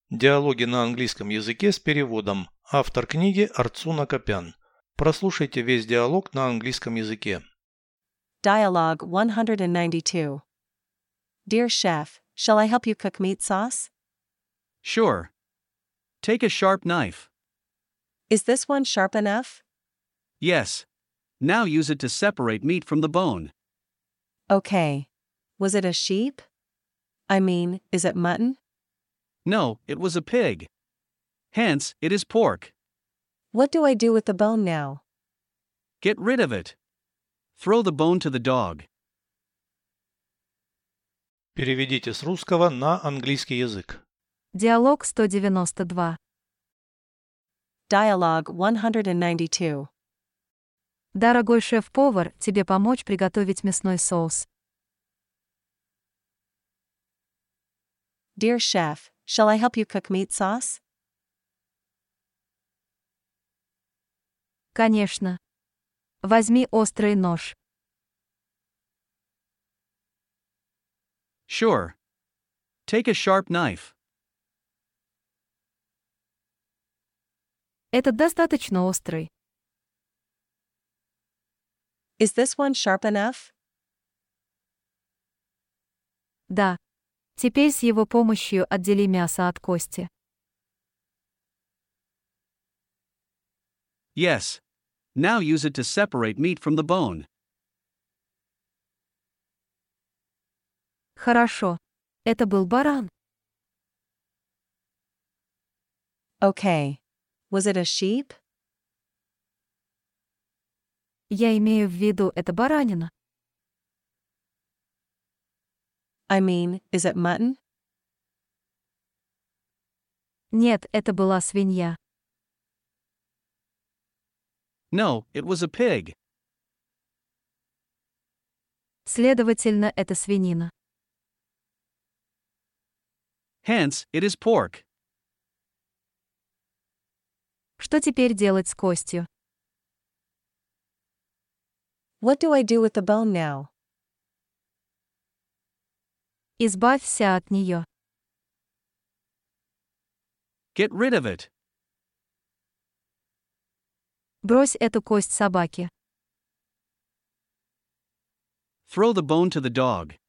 Диалоги на английском языке с переводом. Автор книги Арцуна Копян. Прослушайте весь диалог на английском языке. Dialogue 192. Dear Chef, shall I help you cook meat sauce? Sure. Take a sharp knife. Is this one sharp enough? Yes. Now use it to separate meat from the bone. Okay. Was it a sheep? I mean, is it mutton? No, it was a pig. Hence, it is pork. What do I do with the bone now? Get rid of it. Throw the bone to the dog. Переведите с русского на английский язык. Диалог 192. Dialogue 192. Дорогой шеф-повар, тебе помочь приготовить мясной соус? Dear Chef, shall I help you cook meat sauce? Конечно. Возьми острый нож. Sure. Take a sharp knife. Этот достаточно острый. Is this one sharp enough? Да. Теперь с его помощью отдели мясо от кости. Yes. Now use it to separate meat from the bone. Хорошо. Это был баран. Okay. Was it a sheep? Я имею в виду, это баранина. I mean, is it mutton? Нет, это была свинья. No, it was a pig. Следовательно, это свинина. Hence, it is pork. Что теперь делать с костью? What do I do with the bone now? Избавься от нее. Get rid of it. Брось эту кость собаке. Throw the bone to the dog.